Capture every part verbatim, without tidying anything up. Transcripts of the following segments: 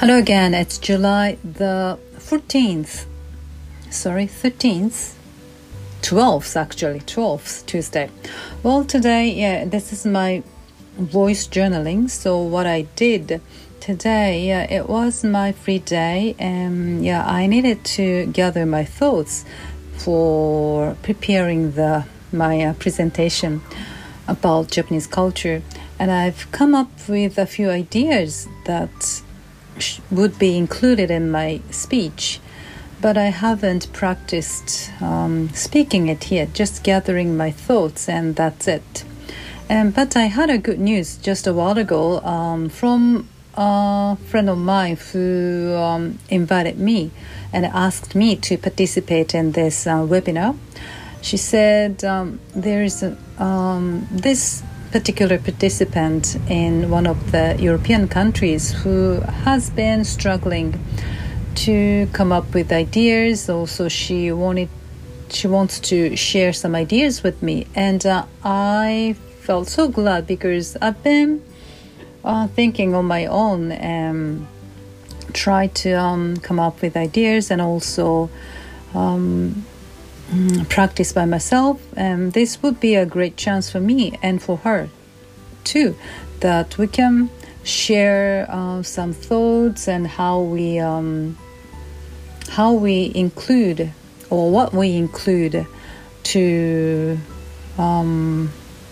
Hello again, it's July the fourteenth, sorry, thirteenth, twelfth actually, twelfth, Tuesday. Well, today, yeah, this is my voice journaling, so what I did today, yeah, it was my free day, and yeah, I needed to gather my thoughts for preparing the my uh, presentation about Japanese culture, and I've come up with a few ideas that would be included in my speech, but I haven't practiced um, speaking it yet, just gathering my thoughts, and that's it. And but I had a good news just a while ago um, from a friend of mine who um, invited me and asked me to participate in this uh, webinar. She said um, there is a, um, this particular participant in one of the European countries who has been struggling to come up with ideas. Also, she wanted, she wants to share some ideas with me, and uh, I felt so glad because I've been uh, thinking on my own and try to um, come up with ideas and also um, practice by myself, and this would be a great chance for me and for her too, that we can share uh, some thoughts and how we um, how we include or what we include to um,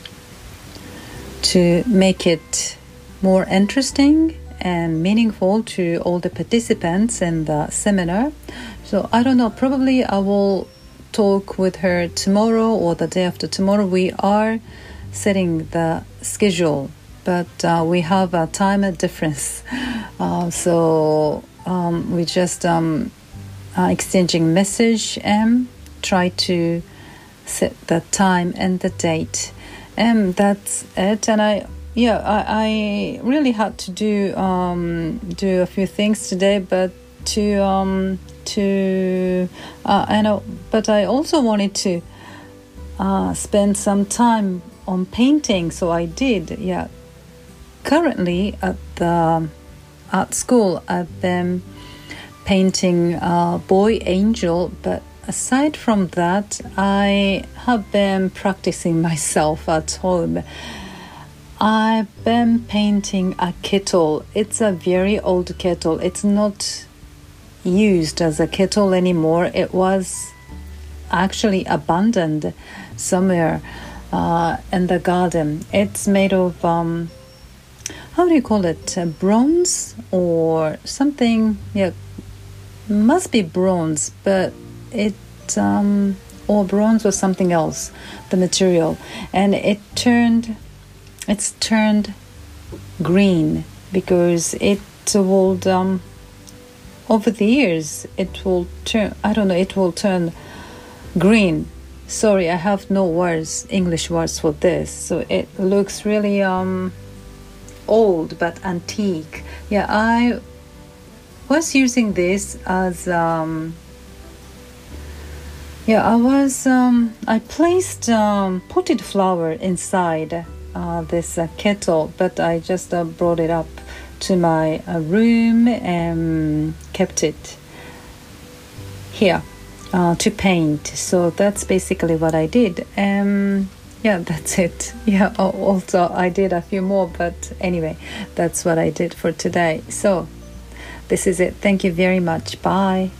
to make it more interesting and meaningful to all the participants in the seminar. So I don't know, probably I will talk with her tomorrow or the day after tomorrow. We are setting the schedule, but uh, we have a time difference, uh, so um, we just um, uh, exchanging message and try to set the time and the date, and that's it. And I yeah I, I really had to do um, do a few things today, but to um, to uh, I know but I also wanted to uh, spend some time on painting, so I did. Yeah, currently at the art school I've been painting uh, boy angel, but aside from that I have been practicing myself at home. I've been painting a kettle. It's a very old kettle. It's not used as a kettle anymore. It was actually abandoned somewhere uh, in the garden. It's made of um, how do you call it? Uh, bronze or something? Yeah, must be bronze, but it um, or bronze or something else. The material, and it turned. It's turned green because it will. Um, Over the years, it will turn, I don't know, it will turn green. Sorry, I have no words, English words for this. So it looks really um, old but antique. Yeah, I was using this as, um, yeah, I was, um, I placed um, potted flower inside uh, this uh, kettle, but I just uh, brought it up to my uh, room and kept it here uh, to paint. So that's basically what I did. Um, yeah, that's it. Yeah, also I did a few more, but anyway, that's what I did for today. So this is it. Thank you very much. Bye.